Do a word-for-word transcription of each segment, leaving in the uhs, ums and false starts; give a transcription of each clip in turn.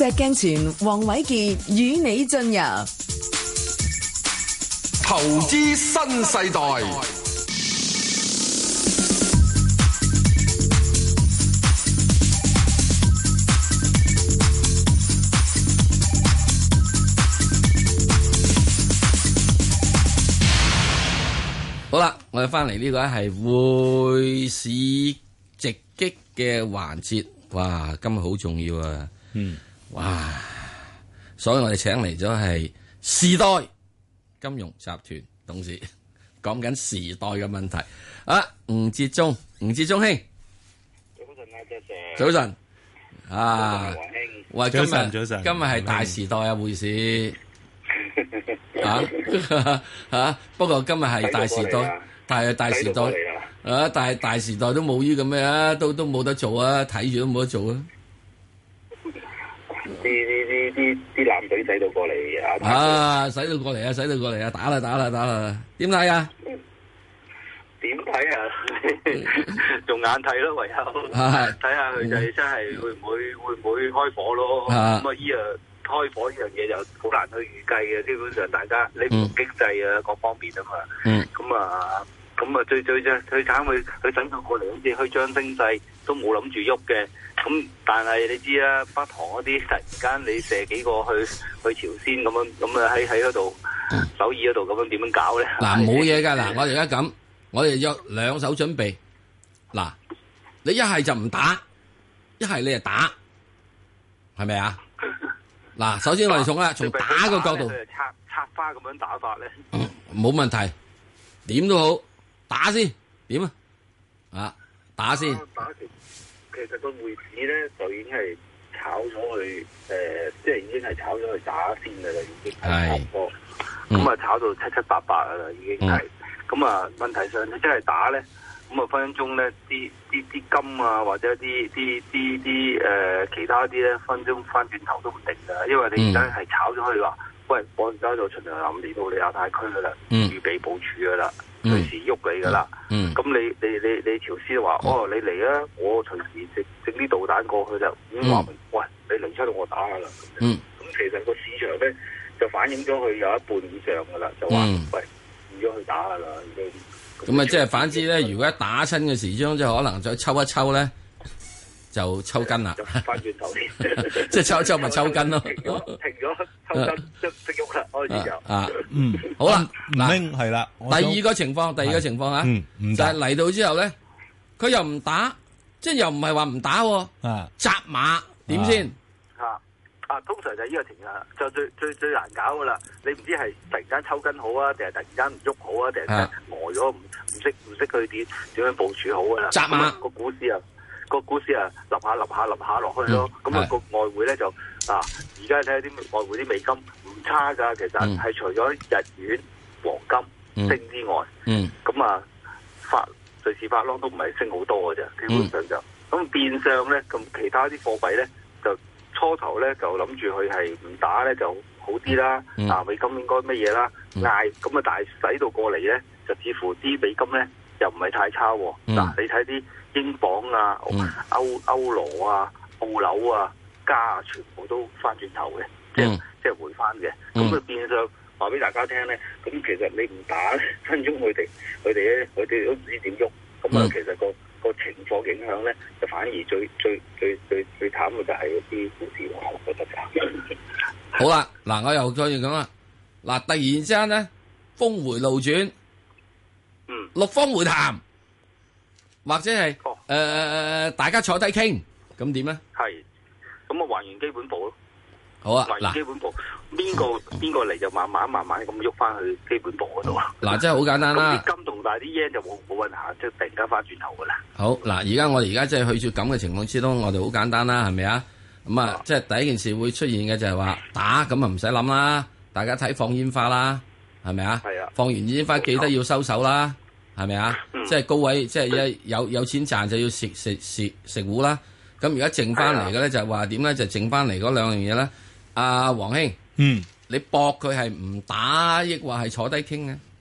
石鏡泉、黃偉傑與你進入投資新世代。 好啦，我哋翻嚟呢個係匯市直擊嘅環節，哇，今日好重要啊！嗯，哇，所以我哋請嚟咗係時代金融集團董事，講緊時代嘅問題。啊，吳哲中，吳哲中兄， 早晨啊，謝謝。 早晨，啊，喂，今日早晨，早晨， 今日係大時代啊，匯市。啊啊！不過今日係大時代，但係大時代啊，但係大時代都冇於咁咩啊，都都冇得做啊，睇住都冇得做啊！ 啲啲啲啲啲艦隊使到過嚟啊！ 啊，使到過嚟啊，使到過嚟啊，打啦打啦打啦！點睇啊？ 點睇啊？用眼睇咯，唯有睇下佢就真係會唔會會唔會開火咯？咁啊，依啊〜開火呢樣嘢就好難去預計嘅，基本上大家你唔經濟啊各方面啊嘛，咁啊咁啊最最最最慘佢佢整到過嚟好似虛張聲勢都冇諗住喐嘅，咁但係你知啦，北韓嗰啲突然間你射幾個去去朝鮮咁樣，咁啊喺喺嗰度首爾嗰度咁樣點樣搞咧？ 嗱冇嘢㗎，嗱我哋而家咁，我哋有兩手準備，嗱你一係就唔打，一係你就打，係咪啊？嗱，首先我哋從啦，從打個角度， 插插花咁樣打法咧， 冇問題，點都好，打先，點啊？啊，打先。 打其其實個匯市咧就已經係炒咗去，誒，即係已經係炒咗去打先嘅啦，已經係差唔多。咁啊，炒到七七八八啦，已經係。咁啊，問題上你真係打咧。咁啊，分分鐘咧，啲啲啲金啊，或者啲啲啲啲誒其他啲咧，分分鐘翻轉頭都唔定㗎，因為你而家係炒咗去話，喂，我而家就循環臨嚟到你亞太區㗎啦， 嗯、 預備部署㗎啦，隨、嗯、時喐你㗎啦。咁、嗯、你你你你朝鮮話，嗯、哦，你嚟啊，我隨時整整啲導彈過去就已經話明，嗯、喂，你嚟出到我打㗎啦。咁、嗯、其實個市場咧就反映咗佢有一半以上㗎啦，就話、嗯、喂，唔咗去打㗎啦，已經。 咁啊，即係反之咧，如果一打親嘅時鐘，即係可能再抽一抽咧，就抽筋啦。 翻轉頭先， 即係抽一抽咪抽筋咯。 停咗，停咗，抽筋即即喐啦，開始就啊，嗯，好啦， 嗱，係啦。 第二個情況，第二個情況啊，就係嚟到之後咧，佢又唔打，即係又唔係話唔打，啊，紮馬點先？ 啊，通常就係呢個情況，就最最最難搞噶啦。你唔知係突然間抽筋好啊，定係突然間唔喐好啊，定係呆咗唔唔識唔識佢點點樣部署好噶啦。 紮馬個股市啊，個股市啊，立下立下立下落去咯。咁啊、嗯，個外匯咧就啊，而家睇下啲外匯啲美金唔差噶，其實係、嗯、除咗日元、黃金升之外，嗯，咁啊法瑞士法郎都唔係升好多嘅啫，基本上就咁、嗯、變相咧，咁其他啲貨幣咧就。初頭咧就諗住佢係唔打咧就好啲啦，嗯、啊美金應該乜嘢啦，嗌咁啊，但係使到過嚟咧就似乎啲美金咧又唔係太差喎。嗱、嗯啊，你睇啲英鎊啊、嗯、歐歐羅啊、澳紐啊、加啊，全部都翻轉頭嘅，即係、嗯、即係回翻嘅。咁佢、嗯、變相話俾大家聽咧，咁其實你唔打咧，分鐘佢哋佢哋咧佢哋都唔知點喐。咁啊，嗯、其實個個情況影響咧，就反而最最最最最慘嘅就係嗰啲股市咯，我覺得就好啦。嗱，我又再講啦。嗱，突然之間咧，峰回路轉，嗯，六方會談，或者係誒誒誒，大家坐低傾，咁點咧？ 係，咁啊還原基本步咯。 好啊， 嗱，基本步邊個邊個嚟就慢慢慢慢咁喐翻去基本步嗰度啊！ 嗱，真係好簡單啦。 啲金同大啲 yen 就冇冇運行，即係突然間翻轉頭噶啦。 好嗱，而家我哋而家即係去住咁嘅情況之中，我哋好簡單啦，係咪啊？咁啊，即係第一件事會出現嘅就係話打，咁啊唔使諗啦，大家睇放煙花啦，係咪啊？係啊。放完煙花記得要收手啦，係咪啊？即係高位，即係一有有錢賺就要食食食食糊啦。咁而家剩翻嚟嘅咧就係話點咧？就剩翻嚟嗰兩樣嘢咧。阿黃兄，嗯，你搏佢係唔打，抑或係坐低傾嘅？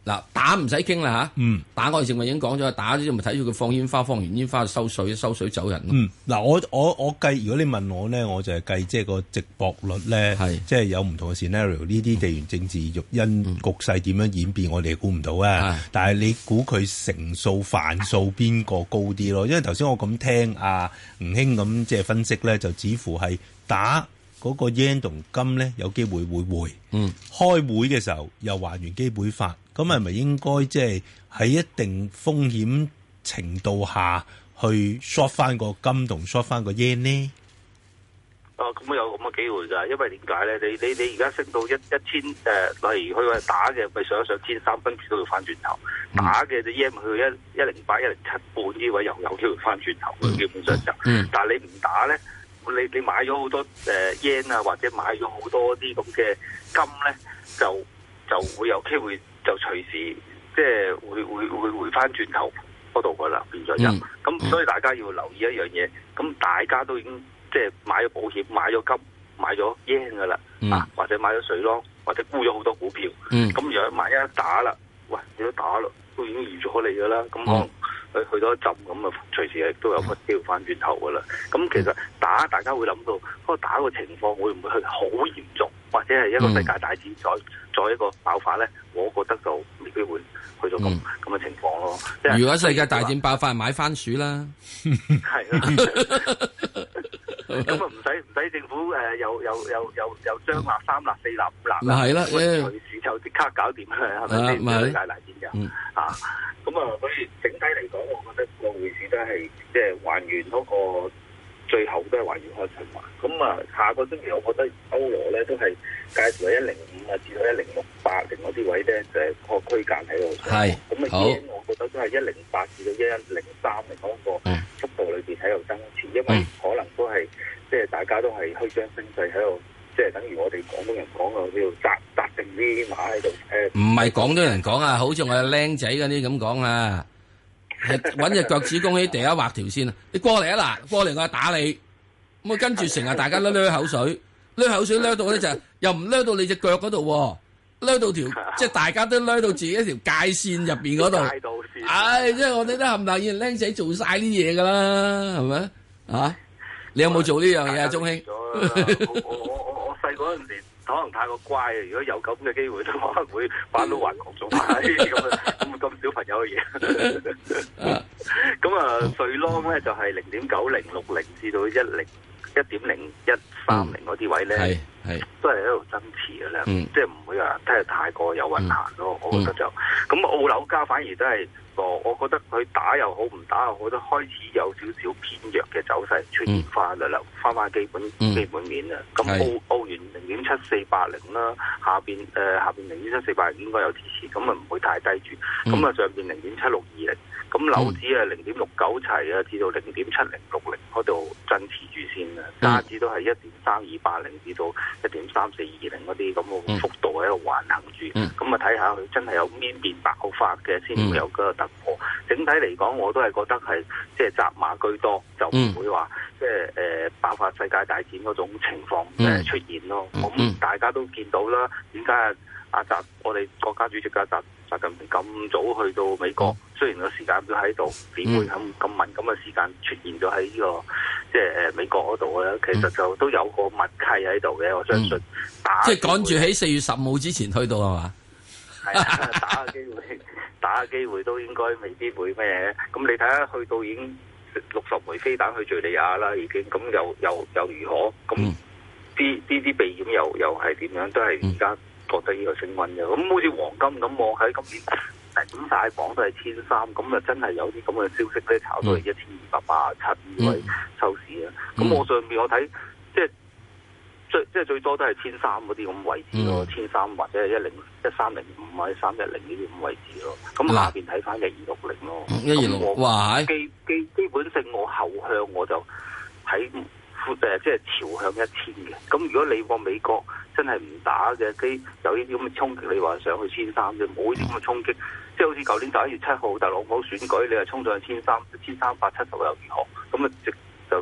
嗱，打唔使傾啦嚇， 嗯， 打我哋正話已經講咗，打咗咪睇住佢放煙花，放完煙花收水，收水走人。 嗯，嗱，我我我計，如果你問我咧，我就係計即係個值博率咧，係即係有唔同嘅 scenario，呢啲地緣政治育因局勢點樣演變，我哋估唔到啊。但係你估佢成數範數邊個高啲咯？因為頭先我咁聽阿吳兄咁即係分析咧，就似乎係打嗰個 yen 同金咧有機會會回。嗯，開會嘅時候又還原基本法。咁係咪應該即係喺一定風險程度下去 short 翻個金同 short 翻個 yen 呢？ 哦，咁有咁嘅機會㗎，因為點解咧？你你你而家升到一一千誒，例如佢話打嘅，咪上一上千三，跟住都要翻轉頭。嗯、打嘅隻 yen 去一一零八、一零七半呢位又有機會翻轉頭嘅，基本上就。嗯、但係你唔打咧，你你買咗好多誒 yen 啊，或者買咗好多啲咁嘅金咧，就就會有機會。就隨時即係會會會回翻轉頭嗰度噶啦，變咗就咁，嗯、所以大家要留意一樣嘢。咁大家都已經即係買咗保險、買咗金、買咗 yen 噶啦，嗯、啊或者買咗水咯，或者沽咗好多股票。咁、嗯、如果萬一打啦，喂，你都打咯，都已經預咗你噶啦。咁可能去去到一浸咁啊，隨時亦都有個機會翻轉頭噶啦。咁其實打大家會諗到，嗰個打個情況會唔會係好嚴重？或者係一個世界大戰再再一個爆發咧，我覺得就未必會去到咁咁嘅情況咯。 如果世界大戰爆發，買番薯啦， 係啦。咁啊唔使唔使政府誒又又又又又張立三立四立五立， 係啦， 隨時就即刻搞掂啦，係咪先？世界大戰就啊，咁啊，所以整體嚟講，我覺得個匯市都係即係還原嗰個。最後都係還原開循環，咁啊下個星期我覺得歐羅咧都係介乎喺一零五啊至到一零六八零嗰啲位咧，就係個區間喺度。係，咁啊 yen我覺得都係一零八至到一一零三嚟嗰個幅度裏邊喺度增持，因為可能都係即係大家都係虛張聲勢喺度，即係等於我哋廣東人講嘅叫紮紮定啲馬喺度。誒，唔係廣東人講啊，好似我哋僆仔嗰啲咁講啊。係揾隻腳趾公喺地下畫條線啊！你過嚟啊嗱，過嚟我打你，咁啊跟住成日大家都掠口水，掠口水掠到咧就又唔掠到你隻腳嗰度，掠到條即係大家都掠到自己一條界線入邊嗰度。唉，即係我哋都冚唪唥要僆仔做晒啲嘢噶啦，係咪啊？你有冇做呢樣嘢啊，鐘兄？ 我我我我細嗰陣時可能太過乖啊！如果有咁嘅機會，都可能會返到環球做埋咁啊咁咁小朋友嘅嘢。咁啊，瑞郎咧就係零點九零六零至到一零一點零一三零嗰啲位咧，係係都係喺度增持嘅啦。嗯、即係唔會話真係太過有運行咯。嗯、我覺得就咁澳樓價反而都係個，我覺得佢打又好唔打又好，都開始有少少偏弱嘅走勢出現翻啦，翻翻基本、嗯、基本面啦。咁澳澳元零點七四八零啦，下邊誒、呃、下邊零點七四八零應該有支持，咁啊唔會太低住。咁啊、嗯、上邊零點七六二零，咁樓指啊零點六九齊啊，至到零點七零六零嗰度增持住先啦。加指都係一點三二八零至到一點三四二零嗰啲咁嘅幅度喺度橫行住。咁啊睇下佢真係有邊邊爆發嘅先會有個突破。整體嚟講，我都係覺得係即係紮馬居多，就唔會話即係誒爆發世界大戰嗰種情況誒出現咯。咁、嗯、大家都見到啦，點解啊阿習我哋國家主席嘅習習近平咁早去到美國？嗯、雖然個時間都喺度，點會咁咁敏感嘅時間出現咗喺呢個即係誒美國嗰度咧？其實就都有個默契喺度嘅，我相信。打即係趕住喺四月十五之前去到係嘛？ 係啊，打嘅機會，打嘅機會都應該未必會咩？咁你睇下去到已經六十枚飛彈去敍利亞啦，已經咁又又又如何？咁啲啲啲避險又又係點樣？都係而家覺得呢個升溫嘅。咁好似黃金咁，我喺今年頂晒榜都係千三，咁啊真係有啲咁嘅消息咧，炒到係一千二百八十七呢位收市啊！咁、嗯、我上邊我睇即係。最即係最多都係千三嗰啲咁位置咯，千三、嗯、或者係一零一三零五或者三一零呢啲咁位置咯。咁下邊睇翻一二六零咯，一二六哇！基基基本性我後向我就喺誒即係朝向一千嘅。咁如果你個美國真係唔打嘅，基有呢啲咁嘅衝擊，你話上去千三啫，冇呢啲咁嘅衝擊，即係好似舊年十一月七號特朗普選舉，你係衝上去千三千三百七十又如何？咁啊直就直插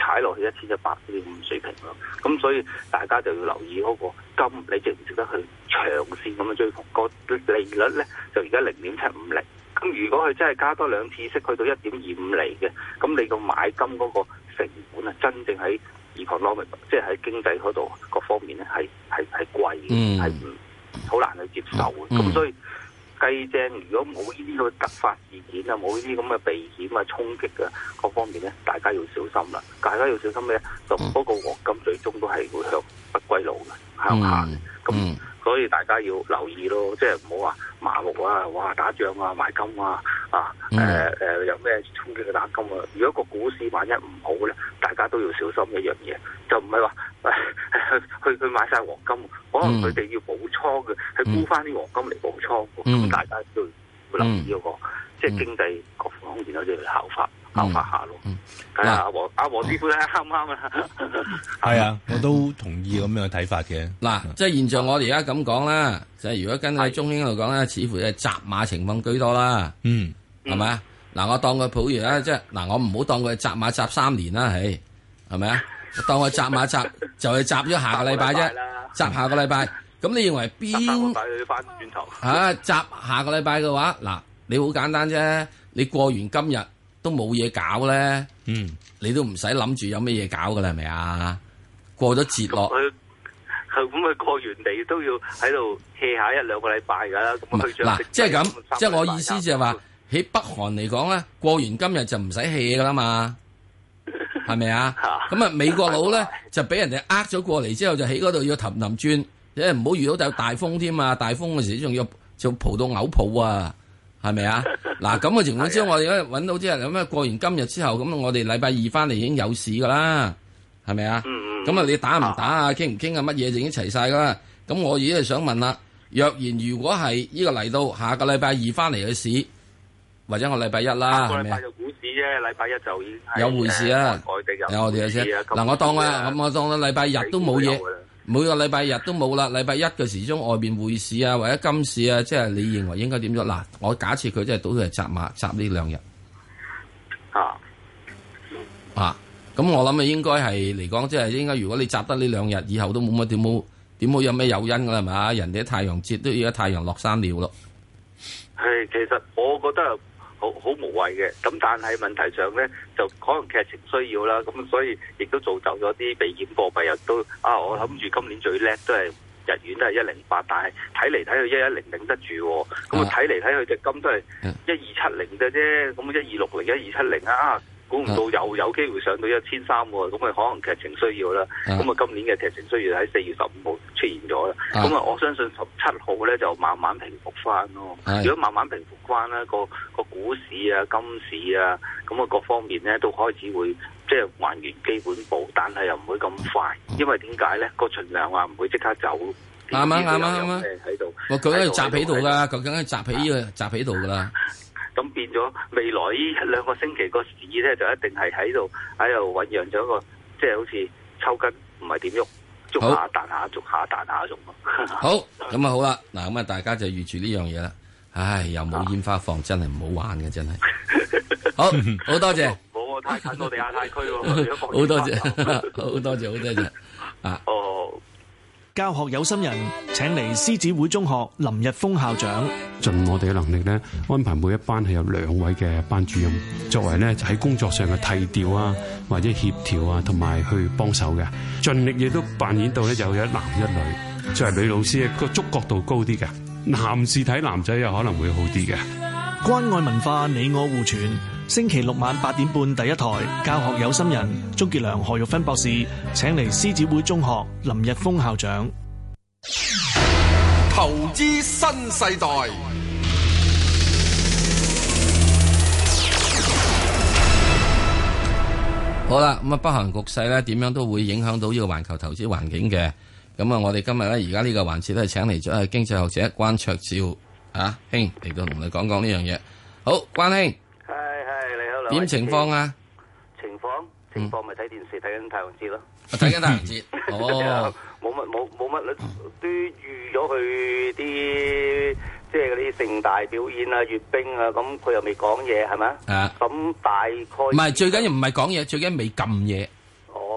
踩落去一千一百呢咁水平咯。咁所以大家就要留意嗰個金，你值唔值得去長線咁樣追逢？個利率咧就而家零點七五厘。咁如果佢真係加多兩次息，去到一點二五厘嘅，咁你個買金嗰個成本啊，真正喺 economic， 即係喺經濟嗰度各方面咧，係係係貴嘅，係唔好難去接受嘅。咁、嗯、所以計正，如果冇呢啲咁嘅突發事件啊，冇呢啲咁嘅避險啊、衝擊啊各方面咧，大家要小心啦。大家要小心咧，就嗰個黃金最終都係會向不歸路嘅，向下嘅。咁、嗯、所以大家要留意咯，即係唔好話麻木啊，哇打仗啊買金啊，啊誒誒、嗯呃、有咩衝擊嘅打金啊。如果個股市萬一唔好咧，大家都要小心一樣嘢，就唔係話去去買晒黃金，可能佢哋要補倉嘅，係沽翻啲黃金嚟補倉嘅。咁、嗯、大家都要留意嗰、那個，嗯、即係經濟各方面都要效法。考法下咯，睇下阿黃阿黃師傅咧啱唔啱啊？ 係啊，我都同意咁樣嘅睇法嘅。 嗱，即係現象，我哋而家咁講啦，就係如果跟喺中興度講咧，似乎係集馬情況居多啦。嗯，係咪啊？嗱，我當佢普如啦，即係嗱，我唔好當佢集馬集三年啦，係係咪啊？當佢集馬集就係集咗下個禮拜啫，集下個禮拜。咁你認為邊？ 翻轉頭啊！集下個禮拜嘅話，嗱，你好簡單啫，你過完今日。都冇嘢搞咧，嗯，你都唔使諗住有咩嘢搞噶啦，係咪啊？過咗節落， 佢咁佢過完地都要喺度 hea 下一兩個禮拜噶啦。咁嗱，即係咁，即係我意思就係話，喺北韓嚟講咧，過完今日就唔使 hea 噶啦嘛，係咪啊？咁啊，美國佬咧就俾人哋呃咗過嚟之後，就喺嗰度要氹氹轉，即係唔好遇到有大風添啊！大風嘅時仲要就蒲到嘔泡啊！係咪啊？嗱，咁嘅情況之下，我哋而家揾到之後咁啊，過完今日之後，咁我哋禮拜二翻嚟已經有市噶啦，係咪啊？咁啊，你打唔打啊？傾唔傾啊？乜嘢就已經齊晒噶啦。咁我而家係想問啦，若然如果係呢個嚟到下個禮拜二翻嚟嘅市，或者我禮拜一啦，係咪啊？ 禮拜就股市啫，禮拜一就已經有匯市啊，有我哋嘅啫。嗱，我當啊，咁我當啊，禮拜日都冇嘢。每個禮拜日都冇啦，禮拜一嘅時鐘外邊匯市啊，或者金市啊，即係你認為應該點咗？嗱，我假設佢真係賭佢係集馬集呢兩日啊啊，咁我諗啊應該係嚟講，即係應該如果你集得呢兩日，以後都冇乜點冇點冇有咩誘因噶啦，係嘛？人哋太陽節都而家太陽落山了咯。 係，其實我覺得好好無謂嘅，咁但係問題上咧，就可能劇情需要啦，咁所以亦都造就咗啲避險貨幣又都啊，我諗住今年最叻都係日元都係一零八，但係睇嚟睇去一一零頂得住，咁啊睇嚟睇去隻金都係一二七零嘅啫，咁一二六零、一二七零啊，估唔到又有機會上到一千三喎，咁啊可能劇情需要啦，咁啊今年嘅劇情需要喺四月十五號出現咗啦，咁啊我相信十七號咧就慢慢平復翻咯。如果慢慢平復翻咧，個個股市啊、金市啊，咁啊各方面咧都開始會即係還原基本步，但係又唔會咁快，因為點解咧？個存量啊唔會即刻走。 啱啊啱啊啱啊！喺度，我佢喺度集喺度噶，究竟係集喺呢個集喺度噶啦。 咁變咗未來呢一兩個星期個市咧，就一定係喺度喺度醖釀咗一個，即係好似抽筋，唔係點喐，捉下彈下，捉下彈下咁咯。 好，咁啊好啦，嗱咁啊大家就預住呢樣嘢啦。唉，又冇煙花放，真係唔好玩嘅，真係。好，好多謝。 冇啊，太近我哋亞太區喎。 好多謝，好多謝，好多謝。啊。 哦。 教學有心人請嚟獅子會中學林日豐校長， 盡我哋嘅能力咧，安排每一班係有兩位嘅班主任，作為咧喺工作上嘅提調啊，或者協調啊，同埋去幫手嘅，盡力亦都扮演到咧有一男一女，作為女老師個觸覺度高啲嘅，男士睇男仔又可能會好啲嘅。 關愛文化，你我互傳。星期六晚八點半第一台，教學有心人，鍾傑良、何玉芬博士請嚟獅子會中學林日豐校長。 投資新世代。 好啦，咁啊，北韓局勢咧點樣都會影響到呢個環球投資環境嘅。咁啊，我哋今日咧而家呢個環節都係請嚟咗係經濟學者關焯照啊兄嚟到同你講講呢樣嘢。好，關兄。點情況啊？ 情況情況咪睇電視睇緊太陽節咯。 睇緊太陽節哦， 冇乜冇冇乜都預咗佢啲即係嗰啲盛大表演啊、閱兵啊，咁佢又未講嘢係咪啊？咁大概唔係最緊要唔係講嘢，最緊要未撳嘢。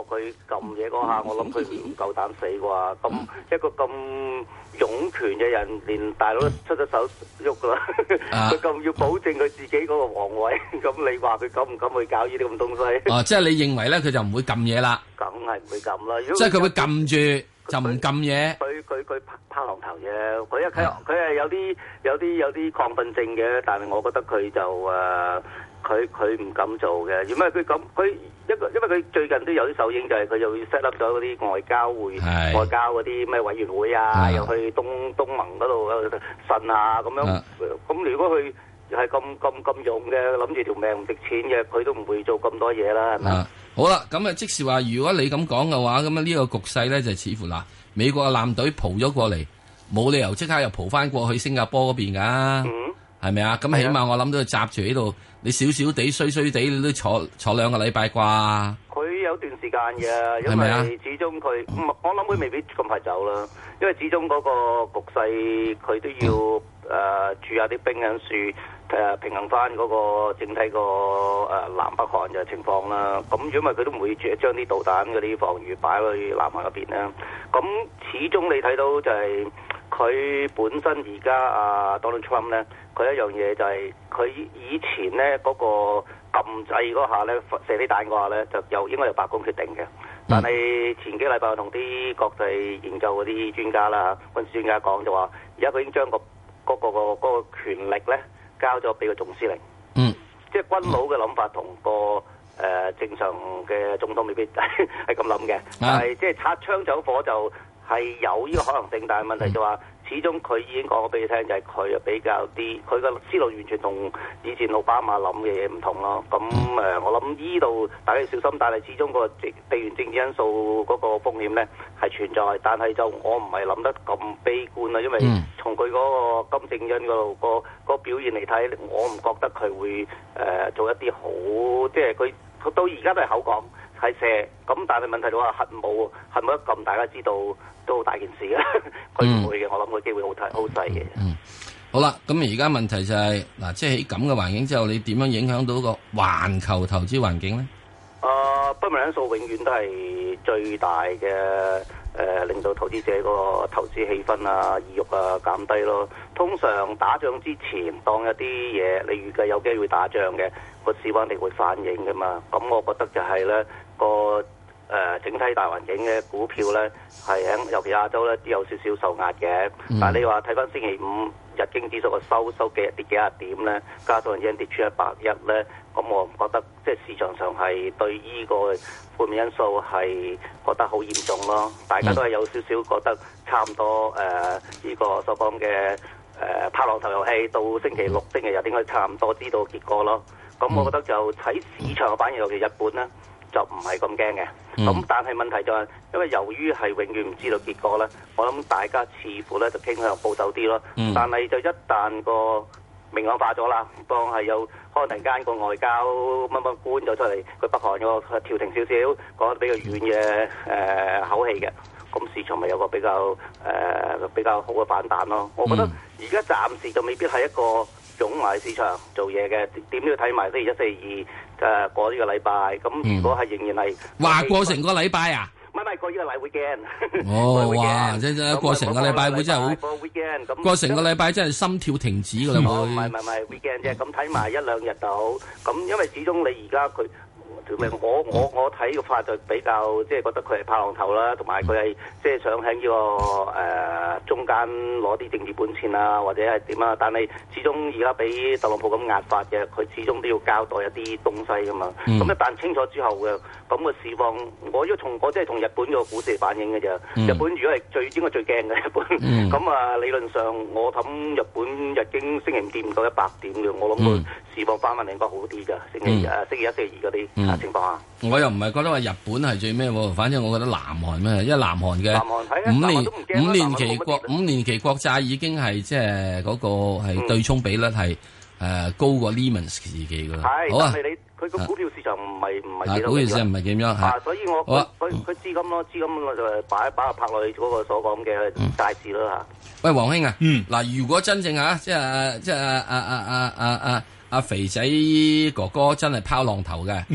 佢撳嘢嗰下，我諗佢唔夠膽死啩。咁一個咁勇權嘅人，連大佬都出咗手喐噶啦，佢咁要保證佢自己嗰個皇位，咁你話佢敢唔敢去搞呢啲咁東西？ 哦，即係你認為咧，佢就唔會撳嘢啦？ 梗係唔會撳啦。 即係佢會撳住就唔撳嘢。 佢佢佢拋浪頭啫。佢一佢佢係有啲有啲有啲亢奮症嘅，但係我覺得佢就誒。佢佢唔敢做嘅，因為佢咁佢一個，因為佢最近都有啲手影，就係佢又會 set up 咗嗰啲外交會、外交嗰啲咩委員會啊，又去東東盟嗰度呻啊咁樣。咁如果佢係咁咁咁勇嘅，諗住條命唔值錢嘅，佢都唔會做咁多嘢啦，係咪？ 好啦，咁啊，即是話，如果你咁講嘅話，咁啊呢個局勢咧就似乎嗱，美國嘅艦隊蒲咗過嚟，冇理由即刻又蒲翻過去新加坡嗰邊噶，係咪啊？咁起碼我諗到佢閘住喺度。你少少地衰衰地，你都坐坐兩個禮拜啩？佢有段時間嘅，因為始終佢，我諗佢未必咁快走啦。因為始終嗰個局勢，佢都要誒駐下啲兵喺樹誒平衡翻嗰個整體個誒南北韓嘅情況啦。咁因為佢都唔會將啲導彈嗰啲防禦擺去南韓嗰邊啦。咁始終你睇到就係佢本身而家啊 Donald Trump 咧。佢一樣嘢就係佢以前咧嗰、那個撳掣嗰下咧射啲彈嗰下咧就由應該由白宮決定嘅，但係前幾禮拜我同啲國際研究嗰啲專家啦、軍事專家講就話，而家佢已經將、那個嗰、那個、那個那個權力咧交咗俾個總司令，嗯，即係軍佬嘅諗法同個誒、呃、正常嘅總統未必係咁諗嘅，但係即係擦槍走火就係有呢個可能性，但係問題就話。始終佢已經講咗俾你聽，就係佢比較啲，佢個思路完全同以前奧巴馬諗嘅嘢唔同咯。咁誒、呃，我諗呢度大家要小心，但係始終個地緣政治因素嗰個風險咧係存在，但係就我唔係諗得咁悲觀啦，因為從佢嗰個金正恩嗰度個個表現嚟睇，我唔覺得佢會誒、呃、做一啲好，即係佢到而家都係口講係射，咁但係問題就話核武核武一撳，大家知道。都好大件事嘅，佢唔會嘅，我諗個機會好大好細嘅。嗯， 好啦，咁而家問題就係、是、嗱，即係喺咁嘅環境之後，你點樣影響到個環球投資環境咧？ 誒、呃，不明因素永遠都係最大嘅誒、呃，令到投資者個投資氣氛啊、意欲啊減低咯。通常打仗之前，當一啲嘢你預計有機會打仗嘅，個市況一定會反映噶嘛。咁我覺得就係咧個。誒、呃、整體大環境嘅股票咧，係喺尤其亞洲咧都有少少受壓嘅。嗯、但係你話睇翻星期五日經指數個收收幾跌幾廿點咧，加上 yen 跌穿一百一咧，咁我唔覺得即係市場上係對呢個負面因素係覺得好嚴重咯。大家都係有少少覺得差唔多誒，呢、呃這個所講嘅誒拍浪頭遊戲到星期六、星期日應該差唔多知道結果咯。咁我覺得就睇市場嘅反應，尤其日本咧。就唔係咁驚嘅，咁、嗯、但係問題就係、是，因為由於係永遠唔知道結果咧，我諗大家似乎咧就傾向保守啲咯。嗯、但係就一旦個明朗化咗啦，當係有可能突然間個外交乜乜官就出嚟，佢北韓個調停少少，講得比較軟嘅誒、呃、口氣嘅，咁市場咪有個比較誒、呃、比較好嘅反彈咯。我覺得而家暫時就未必係一個湧埋市場做嘢嘅，點都要睇埋星期一、四二。誒過呢個禮拜，咁如果係仍然係話過成個禮拜啊？ 唔係唔係過呢個禮 weekend。 哦，哇！即係過成個禮拜會真係好。過成個禮拜真係心跳停止㗎啦，會。 唔係唔係唔係 weekend 啫，咁睇埋一兩日到。咁因為始終你而家佢。我我我睇個法就比較即係覺得佢係拍浪頭啦，同埋佢係即係想喺呢、這個誒、呃、中間攞啲政治本錢啊，或者係點啊？但係始終而家俾特朗普咁壓法嘅，佢始終都要交代一啲東西噶嘛。咁、嗯、一旦清楚之後嘅咁嘅市況，我要從我即係從日本個股市反映嘅啫。嗯、日本如果係最應該最驚嘅日本，咁啊、嗯、理論上我諗日本日經星期五跌唔到一百點嘅，我諗佢市況翻翻嚟應該好啲㗎。星期誒、嗯、星期一、星期二嗰啲。嗯情況啊！ 我又唔係覺得話日本係最咩喎，反正我覺得南韓咩，因為南韓嘅五年五年期國五年期國債已經係即係嗰個係對沖比率係誒高過 Lehman 時期㗎啦。好啊， 但係你佢個股票市場唔係唔係幾多？ 股票市場唔係點樣嚇？ 所以我佢佢資金咯，資金就擺擺下拍落去嗰個所講嘅債市咯嚇。 喂，黃兄啊，嗱，如果真正嚇即係即係阿阿阿阿阿阿肥仔哥哥真係拋浪頭嘅，嗯，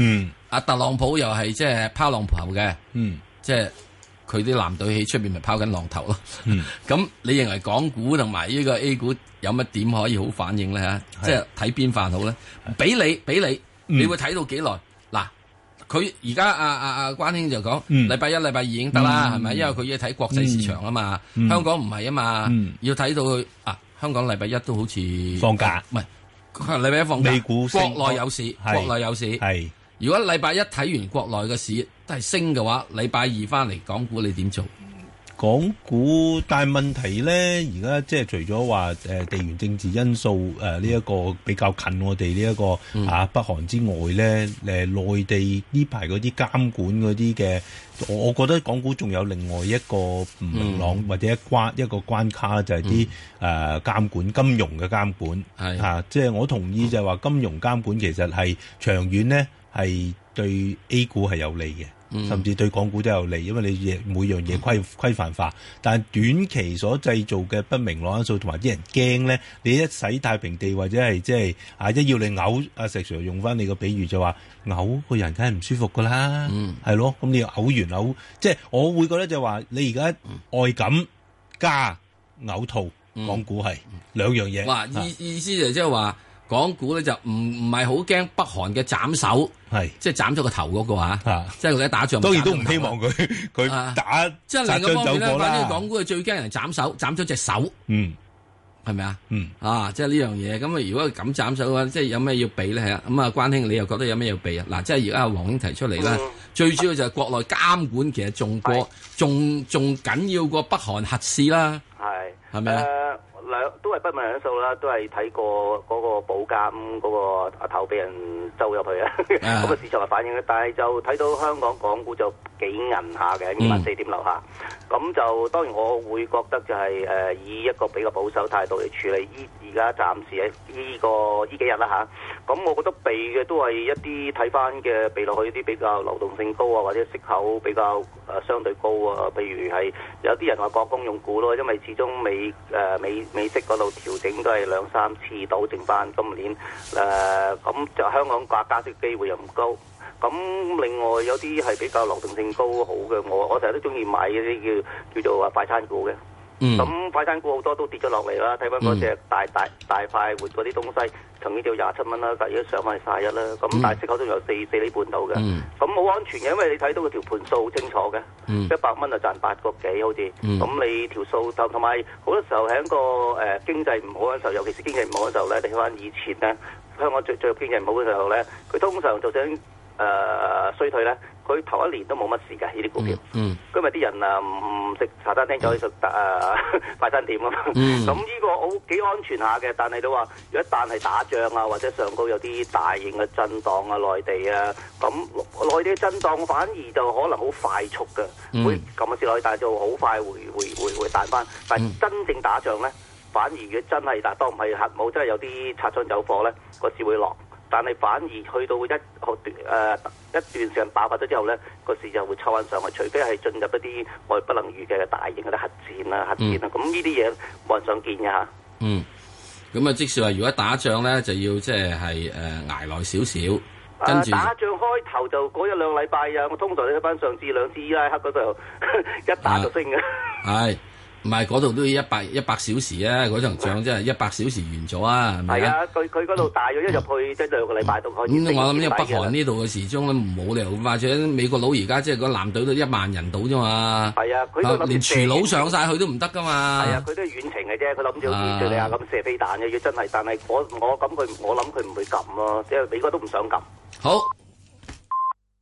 阿特朗普又係即係拋浪頭嘅，嗯，即係佢啲藍隊喺出邊咪拋緊浪頭咯。嗯，咁你認為港股同埋呢個 A 股有乜點可以好反應咧嚇？即係睇邊範好咧？俾你俾你，你會睇到幾耐？嗱，佢而家阿阿阿關兄就講，禮拜一、禮拜二已經得啦，係咪？因為佢要睇國際市場啊嘛，香港唔係啊嘛，要睇到佢啊。香港禮拜一都好似放假， 唔係佢禮拜一放假。 美股國內有市，國內有市。係如果禮拜一睇完國內嘅市都係升嘅話，禮拜二翻嚟港股你點做？ 港股，但係問題咧，而家即係除咗話誒地緣政治因素誒呢一個比較近我哋呢一個、嗯、啊北韓之外咧，誒、呃、內地呢排嗰啲監管嗰啲嘅，我我覺得港股仲有另外一個唔明朗、嗯、或者一關一個關卡就係啲誒監管金融嘅監管係啊，即係我同意就係話金融監管其實係長遠咧係對 A 股係有利嘅。甚至對港股都有利，因為你嘢每樣嘢規規範化，但係短期所製造嘅不明朗因素同埋啲人驚咧，你一洗太平地或者係即係啊一要你嘔，阿石 Sir 用翻你個比喻就話嘔個人梗係唔舒服噶啦，係、嗯、咯，咁你嘔完嘔，即係我會覺得就話你而家外感加嘔吐，港股係兩樣嘢。 哇，意意思就即係話。港股咧就唔唔係好驚北韓嘅斬首，係即係斬咗個頭嗰個嚇，即係佢一打仗。 當然都唔希望佢佢打。 即係另一方面咧，反正港股係最驚人斬手，斬咗隻手。嗯，係咪啊？嗯，啊，即係呢樣嘢。咁啊，如果咁斬手嘅話，即係有咩要避咧？係啊。咁啊，關兄，你又覺得有咩要避啊？嗱，即係而家阿黃兄提出嚟啦，最主要就係國內監管其實仲過仲仲緊要過北韓核試啦。係係咪啊？ 兩都係不明因素啦，都係睇過嗰個保監嗰個頭俾人周入去啊，咁個市場嘅反應嘅，但係就睇到香港港股就幾韌下嘅，二萬四點樓下，咁、嗯、就當然我會覺得就係、是、誒、呃、以一個比較保守態度嚟處理，依而家暫時喺呢、這個呢幾日啦嚇，咁、啊、我覺得避嘅都係一啲睇翻嘅避落去啲比較流動性高啊，或者息口比較誒、呃、相對高啊，譬如係有啲人話國公用股咯，因為始終美誒、呃、美。美息嗰度調整都係兩三次到，剩翻今年誒，咁、呃、就香港掛加息機會又唔高。咁另外有啲係比較流動性高好嘅，我我成日都中意買嗰啲叫叫做話快餐股嘅。咁、嗯、快餐股好多都跌咗落嚟啦，睇翻嗰隻大大大快活嗰啲東西，曾經就廿七蚊啦，但係而家上翻係卅一啦。咁、嗯、但係息口都有四四厘半到嘅，咁好、嗯、安全嘅，因為你睇到個條盤數好清楚嘅，一百蚊就賺八個幾好似。咁、嗯、你條數同同埋好多時候喺個誒、呃、經濟唔好嘅時候，尤其是經濟唔好嘅時候咧，你睇翻以前咧，香港最最經濟唔好嘅時候咧，佢通常就想誒、呃、衰退咧。佢頭一年都冇乜事嘅呢啲股票，嗯，因為啲人啊唔食茶餐廳就去食誒快餐店啊嘛，咁呢、嗯、個好幾安全下嘅。但係都話，如果一旦係打仗啊，或者上高有啲大型嘅震盪啊，內地啊，咁內地嘅震盪反而就可能好快速嘅，嗯、會咁嘅市落去，但係就好快會會會會彈翻。但係真正打仗咧，反而如果真係嗱，當唔係核武，真係有啲擦槍走火咧，個市會落。但係反而去到一好段誒一段時間爆發咗之後咧，個市就會抽翻上去，除非係進入一啲我哋不能預計嘅大型嘅核戰啊、核戰啊，咁呢啲嘢冇人想見嘅嚇。嗯， 咁啊，即使話如果打仗咧，就要即係係誒捱耐少少。跟住、 呃、打仗開頭就嗰一兩禮拜啊，我通常睇翻上次兩次伊拉克嗰度一打就升嘅。係。 唔係嗰度都要一百一百小時啊！嗰場仗真係一百小時完咗啊！係咪啊？ 佢佢嗰度大約一入去即係兩個禮拜都可以。 咁我諗呢個北韓呢度嘅時鐘咧冇理由，或者美國佬而家即係個艦隊都一萬人到啫嘛。係啊，佢都連廚佬上晒去都唔得噶嘛。 係啊，佢都係遠程嘅啫，佢諗住好似敘利亞咁射飛彈嘅，要真係，但係我我咁佢我諗佢唔會撳咯，即係美國都唔想撳。 好。